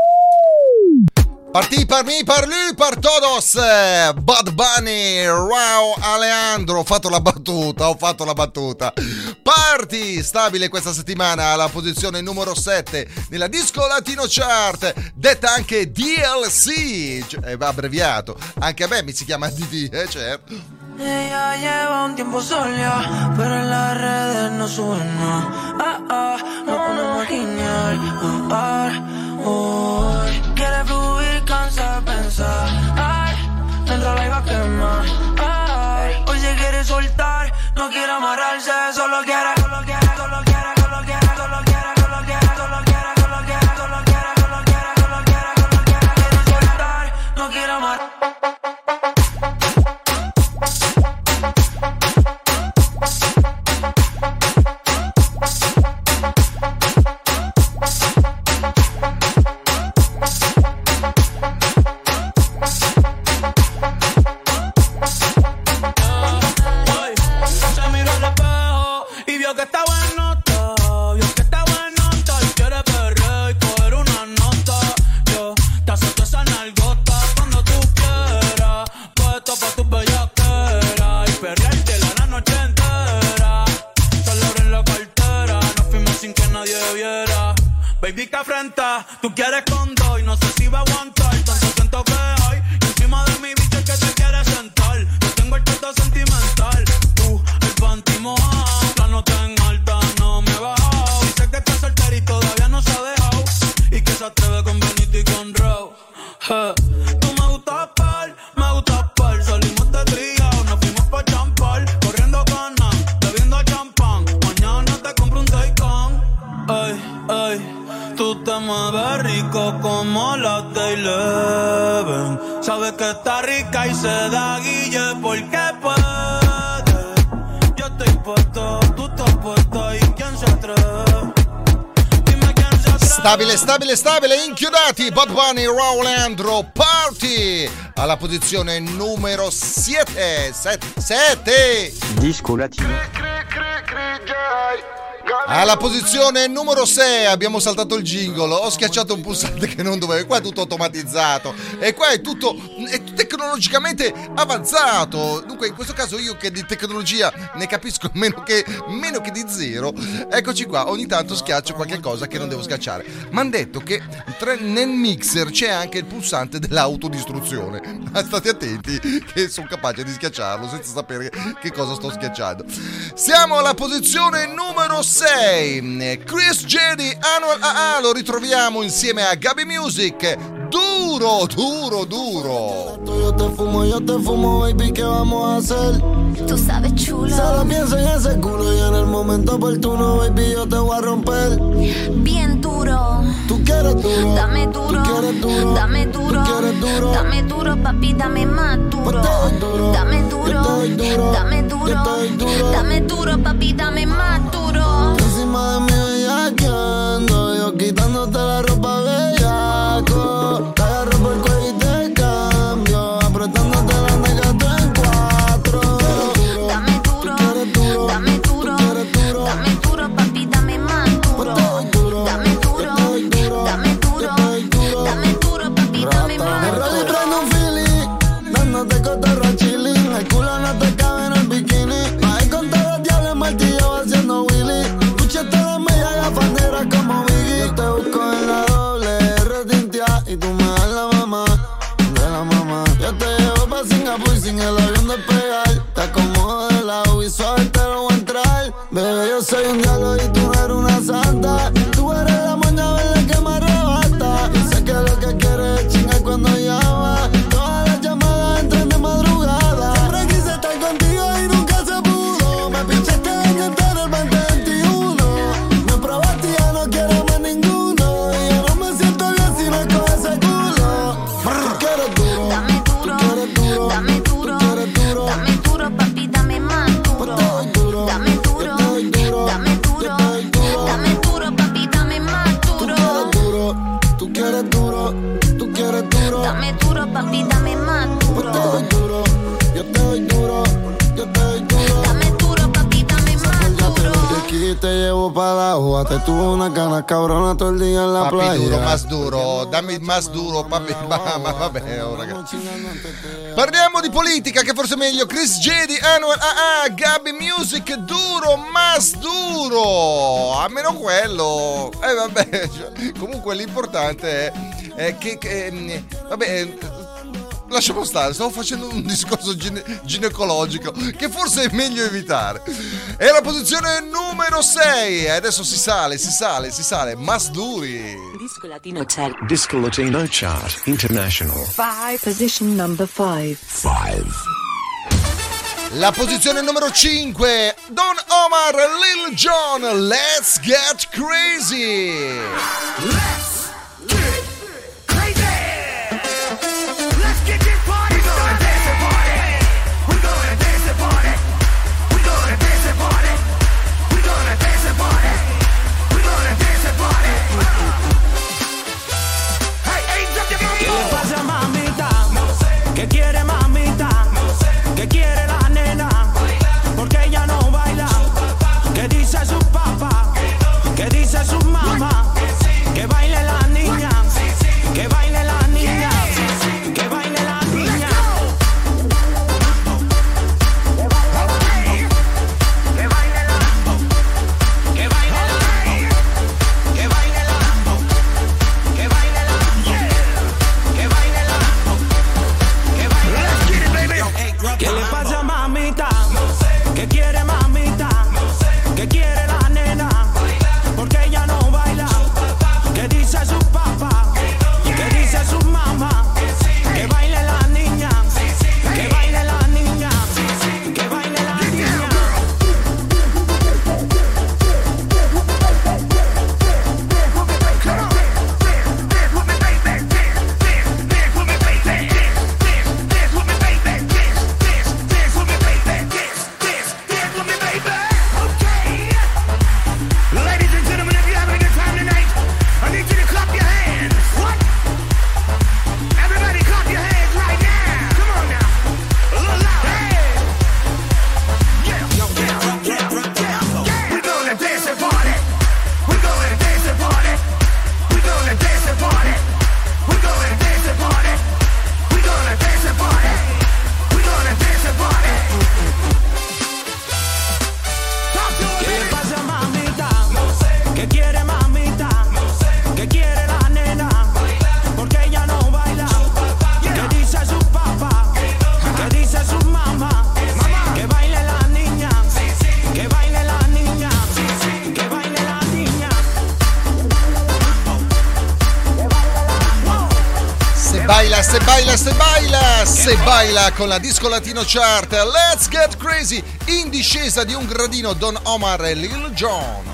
Partì per me, per lui, per todos. Bad Bunny, Rauw Alejandro. Ho fatto la battuta. Parti stabile questa settimana alla posizione numero 7 nella Disco Latino Chart, detta anche DLC, cioè, va abbreviato. Anche a me mi si chiama DD, certo. Ella lleva un tiempo sola, pero en las redes no sube nada. No podemos imaginar. Quiere fluir, cansa de pensar. Dentro la iba a quemar. Hoy se quiere soltar, no quiere amarrarse, solo quiere. Baby, que afrenta, tú quieres con dos y no sé si va a aguantar. Tanto siento que hay y encima de mi bicho el que te quiere sentar. Yo tengo el trato sentimental, tú el panty mojado. La nota en alta no me he bajado. Dice que está soltera y todavía no se ha dejado, y que se atreve con Benito y con Raw. Tú me gustas par, salimos de trío, nos fuimos pa' champar, corriendo canas, bebiendo champán. Mañana te compro un Taycan. Ay, tú te mueves rico como la Eleven. Sabes que está rica y se da guille porque puede. Yo estoy puesto, tú estás puesta, y quién se atreve. Dime quién se atreve. Stabile, inchiodati Bad Bunny, Rauw Alejandro, Party alla posizione numero 7. Disco Latino. Alla posizione numero 6 abbiamo saltato il jingle, ho schiacciato un pulsante che non dovevo, qua è tutto automatizzato e qua è tutto tecnologicamente avanzato. Dunque in questo caso io che di tecnologia ne capisco meno che di zero, eccoci qua, ogni tanto schiaccio qualche cosa che non devo schiacciare. Mi hanno detto che nel mixer c'è anche il pulsante dell'autodistruzione, ma state attenti che sono capace di schiacciarlo senza sapere che cosa sto schiacciando. Siamo alla posizione numero 6, Chris Jedi, Annual AA, lo ritroviamo insieme a Gaby Music, duro. Yo te fumo, baby, ¿qué vamos a hacer? Tú sabes, chulo. Solo pienso en ese culo y en el momento oportuno, baby, yo te voy a romper. Bien duro. Tú quieres duro. Dame duro. Tú quieres duro. Dame duro. Tú quieres duro. Dame duro, papi, dame más duro. Dame duro. Dame duro. Dame duro, papi, dame más duro. Encima de mí bellaqueando, yo quitándote la ropa bellaco. Te agarro por el cuello y y tú me das la mamá de la mamá. Yo te llevo pa' Singapur sin el avión despegar. Te acomodo de lado y suave te lo voy a entrar. Bebé, yo soy un diablo y tú eres una santa. Tú eres la moña verde que me arrebata. Y sé que lo que quieres es chingar cuando llama. Todas las llamadas entran de madrugada. Siempre quise estar contigo y nunca se pudo. Me pinchaste en entero el 2021. Me probaste y ya no quiero más ninguno. Y yo no me siento bien si no es con ese culo. Tú quieres duro, dame duro, tú quieres duro, dame duro, tú quieres duro, dame duro, papi, dame más duro. Dame duro, dame duro, dame duro, papi, dame más duro. Tú quieres duro, tú quieres duro. Dame duro, papi, dame más duro. Yo te doy duro, yo te doy duro, yo te doy duro. Dame duro, papi, dame más duro. De aquí te llevo para la agua. Te tuvo una ganas cabrona todo el día en la papi playa. Duro, más duro, dammi más duro, papi. Ma vabbè, oh, ragazzi. Parliamo di politica, che forse è meglio. Chris Jedi, Anwar AA, Gabi Music, duro, mas duro. Almeno quello. Vabbè, cioè, comunque l'importante è che vabbè, lasciamo stare, stavo facendo un discorso ginecologico che forse è meglio evitare. È la posizione numero 6. Adesso si sale. Mas duri. Disco Latino Chart. Disco Latino Chart International. 5. Position number 5. La posizione numero 5. Don Omar, Lil Jon, Let's Get Crazy. Let's get crazy. Let's get this party going. Dance and party. We're gonna dance and party. We're gonna dance and party. We're gonna dance and party. We're gonna dance and party. Hey, hey, drop your ¿Qué le mambo. pasa, mamita? ¿Qué quiere, mamita? ¿Qué quiere la nena? Porque ella no baila. ¿Qué dice su papá? ¿Qué dice su mamá? Que baile la niña. Que baile la niña. Que baile la niña. Que baile la. Que baile la. Que baile la. Que baile la. Que baile la. Que baile la. ¿Qué le pasa, mamita? ¿Qué quiere, mamita? ¿Qué quiere la nena? Porque ella no baila. ¿Qué dice su papá? ¿Qué dice su mamá? Que baile la niña. Que baile la niña. Que baile la niña. Ladies and gentlemen, if you're having a good time tonight, I need you to clap your hands. What? Everybody clap your hands right now. Come on now. A little louder. Hey. Yeah. We're gonna dance and party. We're gonna dance and party. We're gonna dance and party. We're gonna dance and party. We're gonna dance and party. We're gonna dance and party. Talk to ¿Qué le me. pasa, mamita? ¿Qué quiere, mamita? ¿Qué quiere la nena? Porque ella no baila. ¿Qué dice su papá? ¿Qué dice su mamá? Que baile la niña. Que baile la niña. Que baile la niña. Se baila con la Disco Latino Chart. Let's Get Crazy. In discesa di un gradino, Don Omar e Lil Jon.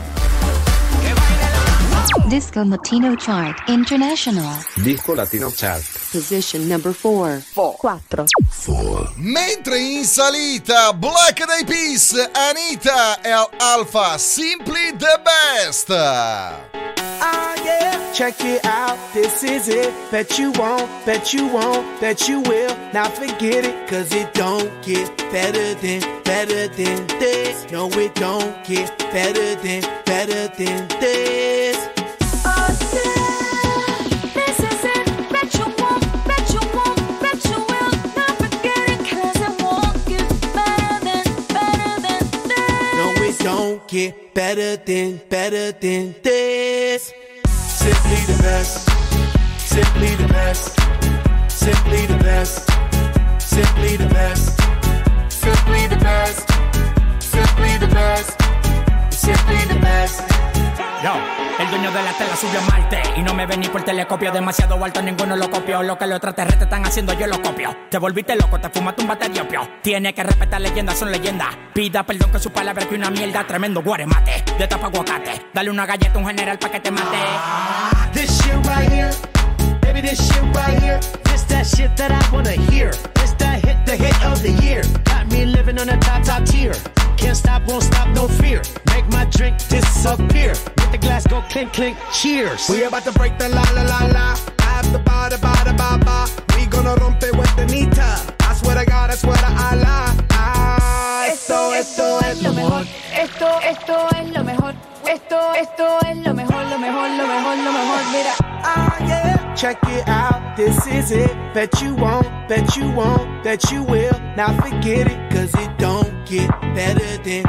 Disco Latino Chart International. Disco Latino Chart. Position number 4. 4. Mentre in salita, Black Eyed Peas, Anita e Alpha, Simply the Best. Ah yeah, check it out, this is it. Bet you won't, bet you won't, bet you will. Now forget it, cause it don't get better than this. No, it don't get better than this. Oh yeah, this is it. Bet you won't, bet you won't, bet you will. Now forget it, cause it won't get better than this. No, it don't get better than this. Simply the best. Simply the best. Simply the best. Simply the best. Simply the best. Simply the best. Simply the best. Yo, el dueño de la tela subió a Marte y no me ven ni por telescopio. Demasiado alto, ninguno lo copió. Lo que los extraterrestres están haciendo, yo lo copio. Te volviste loco, te fumaste un bate de opio. Tiene que respetar leyendas, son leyendas. Pida perdón que su palabra es que una mierda. Tremendo guaremate, de tapa aguacate. Dale una galleta a un general pa' que te mate. This shit right here, baby, this shit right here. This that shit that I wanna hear. This that hit, the hit of the year. Got me living on a top tier. Can't stop, won't stop, no fear. Make my drink disappear. Let the glass go clink, clink, cheers. We about to break the la la la la. I have the ba da ba da ba ba. We gonna rompe with the nita. I swear to God, I swear to Allah. Esto es lo mejor. Esto es lo mejor. Esto es lo mejor, lo mejor, lo mejor, lo mejor. Mira. Ah, yeah. Check it out, this is it. Bet you won't, bet you won't, bet you will. Now forget it, cause it don't get better than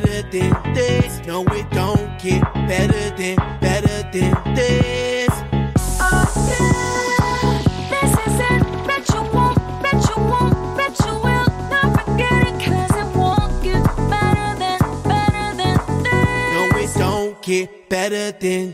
this. No, it don't get better than this. Oh, yeah. This is it. Bet you won't, bet you won't, bet you will. Now forget it, cause it won't get better than this. No, it don't get better than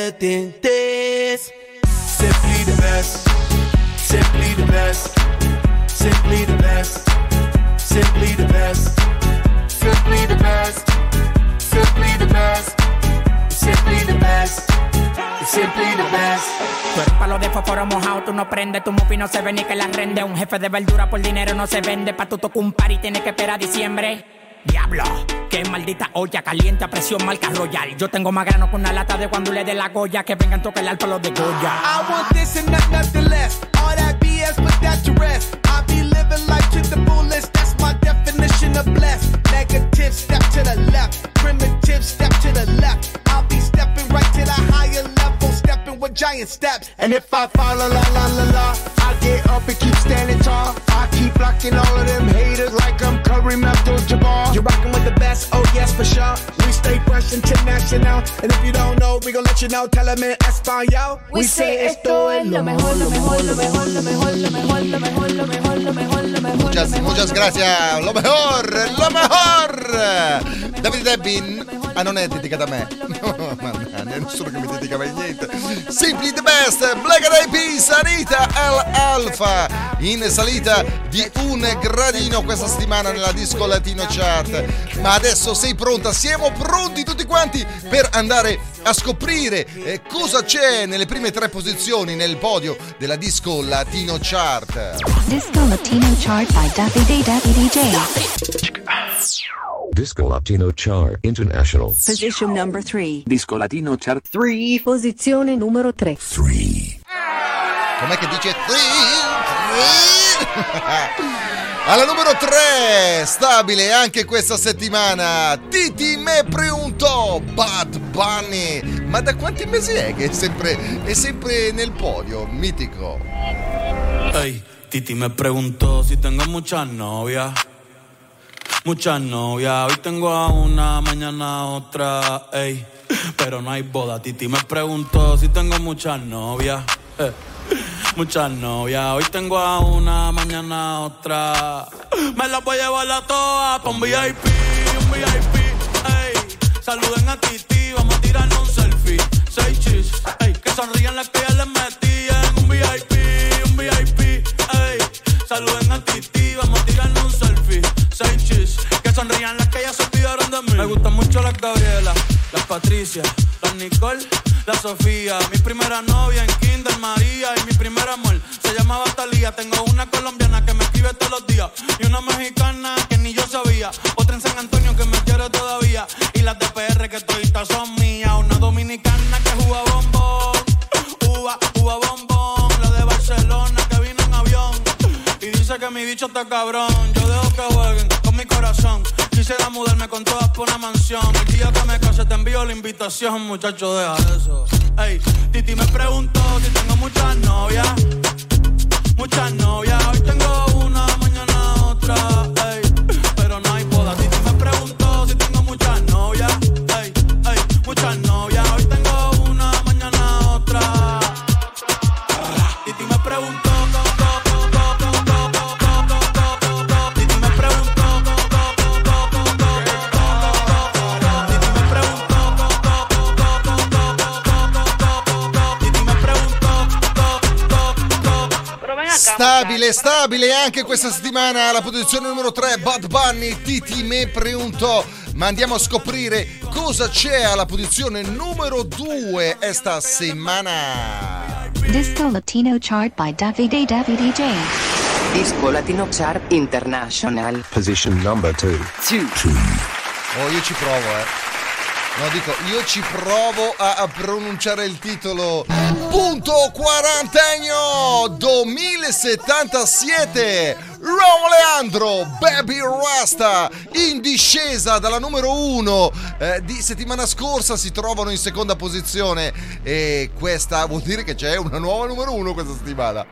this. Simply the best. Simply the best. Simply the best. Simply the best. Simply the best. Simply the best. Simply the best. Simply the best. Tú eres palo de fósforo mojado, tú no prendes. Tu mufi no se ve ni que la rende. Un jefe de verdura por dinero no se vende. Pa' tu tocar un party tienes que esperar diciembre. Diablo, qué maldita olla caliente a presión marca Royal. Yo tengo más grano con una lata de cuando le dé la Goya. Que vengan tocar el alto los de Goya. I want this and nothing less. All that BS, put that to rest. I be living life to the fullest. That's my definition of blessed. Negative, step to the left. Primitive, step to the left. I'll be stepping right to the higher level. Stepping with giant steps. And if I fall, la la la la la, I get up and keep standing tall. I keep blocking all of them haters like I'm Kareem Abdul-Jabbar. You're rocking with the best, oh yes for sure. We stay fresh international. And if you don't know, we gon' let you know. Tell them in Espanol. We say esto es lo mejor, lo mejor, lo mejor, lo mejor, lo mejor, lo mejor, lo mejor, lo mejor, lo mejor. Muchas gracias, lo mejor, lo mejor. Davide Debbie, non è dedicata a me. No, nessuno che mi dedica mai niente. Simply the best, Black Eyed Peas, Anita Alpha, in salita di un gradino questa settimana nella Disco Latino Chart. Ma adesso sei pronta? Siamo pronti tutti quanti per andare a scoprire cosa c'è nelle prime 3 posizioni nel podio della Disco Latino Chart. Disco Latino Chart by Davide DJ. Disco Latino Chart International. Position number 3. Disco Latino Chart 3. Posizione numero 3. Com'è che dice 3? Alla numero 3, stabile anche questa settimana, Titi me preguntò, Bad Bunny. Ma da quanti mesi è che è sempre nel podio, mitico? Hey, Titi me preguntó si tengo muchas novias. Muchas novias, hoy tengo a una, mañana a otra, ey, pero no hay boda. Titi me preguntó si tengo muchas novias, muchas novias, hoy tengo a una, mañana a otra. Me las voy a llevar a todas pa' un VIP, ey. Saluden a Titi, vamos a tirarnos un selfie. 6 chis, ey, que sonrían las que ya les metí en un VIP, ey. Saluden a Titi, vamos a tirarnos un selfie. 6 chis, que sonrían las que ya se olvidaron de mí. Me gustan mucho las Gabriela, las Patricia, las Nicole, la Sofía. Mi primera novia en Kinder María y mi primer amor se llamaba Talía. Tengo una colombiana que me escribe todos los días y una mexicana que ni yo sabía. Otra en San Antonio que me quiere todavía y las de PR que toditas son mías. Una dominicana que juega bombón, uva bombón. La de Barcelona que vino en avión y dice que mi bicho está cabrón. Yo dejo que jueguen con mi corazón. Quisiera mudarme con todas por una mansión. El día que me case te envío la invitación, muchacho, deja eso. Ey, Titi me preguntó si tengo muchas novias. Muchas novias, hoy tengo una, mañana otra. Ey, pero no hay boda. Titi me preguntó si tengo muchas novias. Ey, muchas novias, hoy tengo una, mañana otra. preguntó. Titi me preguntó. Stabile anche questa settimana alla posizione numero 3 Bad Bunny, Titi me preguntò. Ma andiamo a scoprire cosa c'è alla posizione numero 2 esta settimana. Disco Latino Chart by Davide DJ. Disco Latino Chart International. Position number 2. Oh, io ci provo, No, dico, io ci provo a pronunciare il titolo. Punto quarantennio 2077. Raul Alejandro, Baby Rasta, in discesa dalla numero 1 di settimana scorsa, si trovano in seconda posizione e questa vuol dire che c'è una nuova numero 1 questa settimana.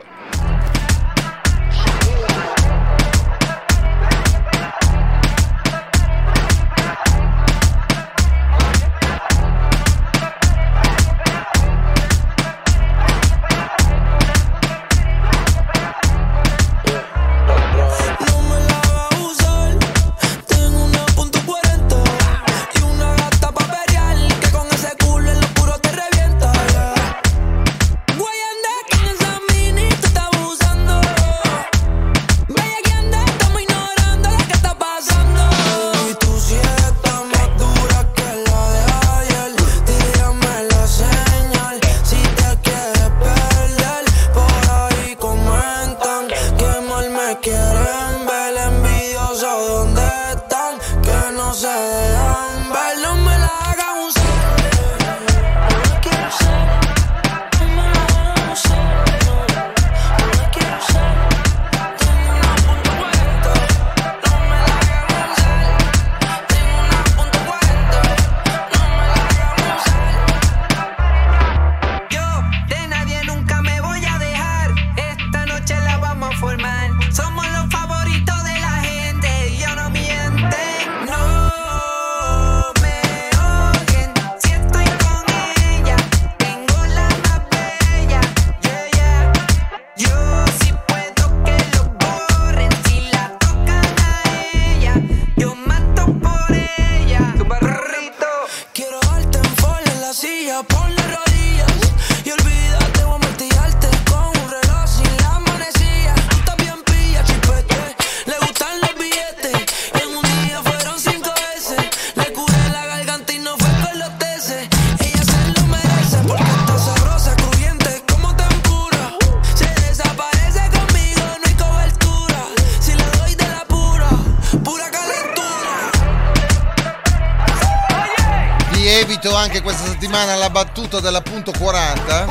Anche questa settimana la battuta della punto 40.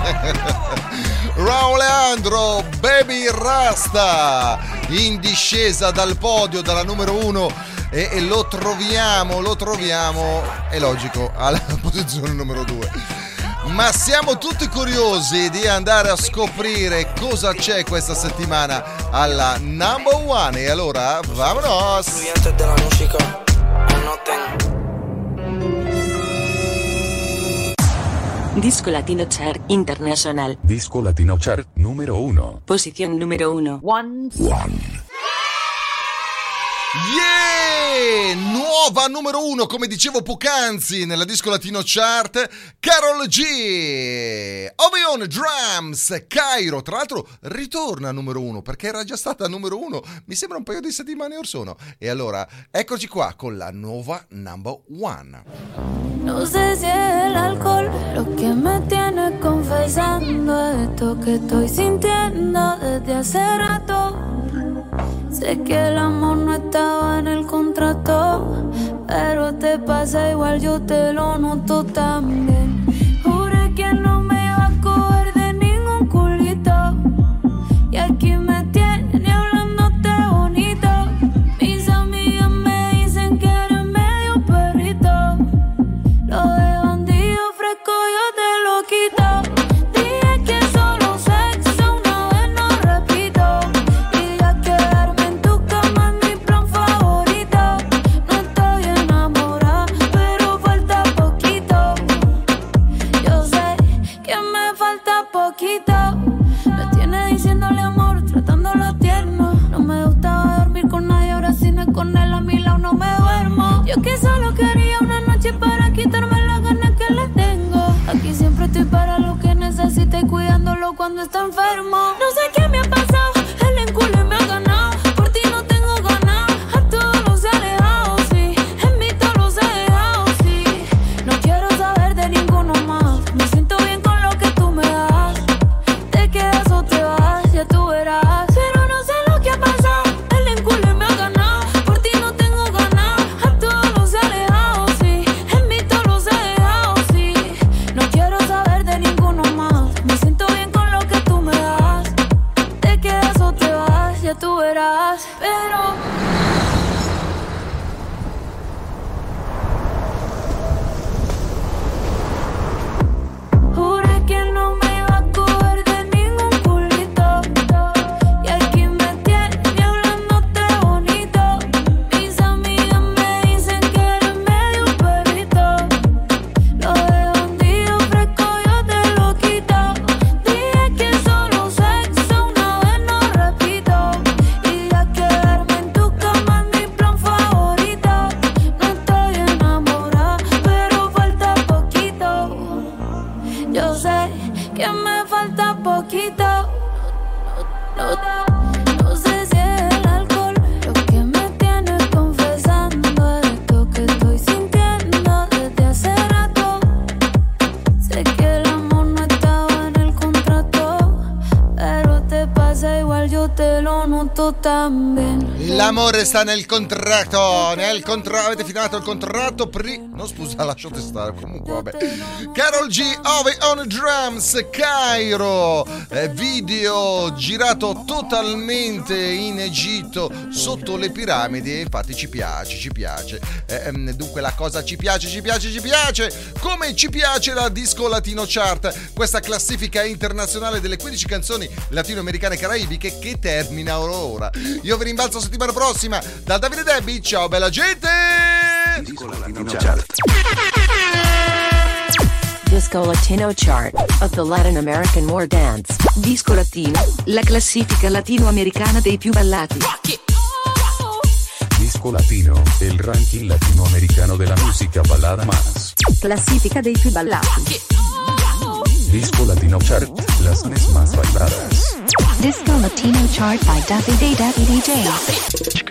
Raul Alejandro, Baby Rasta, in discesa dal podio dalla numero 1 e lo troviamo, è logico, alla posizione numero 2. Ma siamo tutti curiosi di andare a scoprire cosa c'è questa settimana alla number 1 e allora vamonos. Disco Latino Chart International. Disco Latino Chart numero 1. Posición número 1. One. Yeah! Nuova numero 1, come dicevo poc'anzi, nella Disco Latino Chart, Karol G. Ovion Drums, Cairo. Tra l'altro ritorna a numero 1 perché era già stata numero 1, mi sembra un paio di settimane or sono. E allora, eccoci qua con la nuova number 1. No sé si es el alcohol lo que me tiene confesando esto que estoy sintiendo desde hace rato. Sé que el amor no estaba en el contrato, pero te pasa igual, yo te lo noto también. Juré que no me iba a coger de ningún culito, y aquí me tiene hablándote bonito. Mis amigas me dicen que eres medio perrito, lo de bandido fresco yo te lo quito. Dije que solo sexo una vez no repito, y ya quedarme en tu cama es mi plan favorito. No estoy enamorada, pero falta poquito. Yo sé ando está enfermo. No sé qué me ha pasado, el enculo me ha ganado. Por ti no tengo ganas, a todos los he alejado, sí. En mí todos los he dejado, sí. No quiero saber de ninguno más. Me siento bien con lo que tú me das. Te quedas o te vas, ya tú verás. Pero no sé lo que ha pasado, el enculo me ha ganado. Por ti no tengo ganas, a todos los he alejado, sí. En mí todos los he dejado, sí. No quiero saber de ninguno más. Me siento bien con lo que tú me das. Te quedas o te vas, ya tú verás. Pero juré que no me iba a coger de ningún culito. Y aquí me tiene hablándote bonito. Mis amigas me dicen que eres medio perrito. Lo de bandido fresco yo te lo quito. Dije que solo sexo una vez no repito. Y ya quedarme en tu cama es mi plan favorito. No estoy enamorada, pero falta poquito. Yo sé que me falta poquito. No sé si es el alcohol lo que me tiene confesando esto que estoy sintiendo desde hace rato. Sé que el amor no estaba en el contrato, pero te pasa igual, yo te lo noto también. L'amore sta nel contratto. Avete firmato il contratto no, scusa, lasciate stare. Comunque vabbè. Karol G, Ove on drums, Cairo, video girato totalmente in Egitto sotto le piramidi. Infatti ci piace. Dunque la cosa ci piace. Come ci piace la Disco Latino Chart, questa classifica internazionale delle 15 canzoni latinoamericane e caraibiche che termina ora. Io vi rimbalzo settimana prossima da Davide Debbie. Ciao bella gente. Disco Latino Chart. Disco Latino Chart of the Latin American More Dance. Disco Latino, la classifica latinoamericana dei più ballati. Disco Latino, el ranking latinoamericano de la música balada más. Classifica dei più ballati. Disco Latino Chart, las más bailadas. Disco Latino Chart by Davide DJ.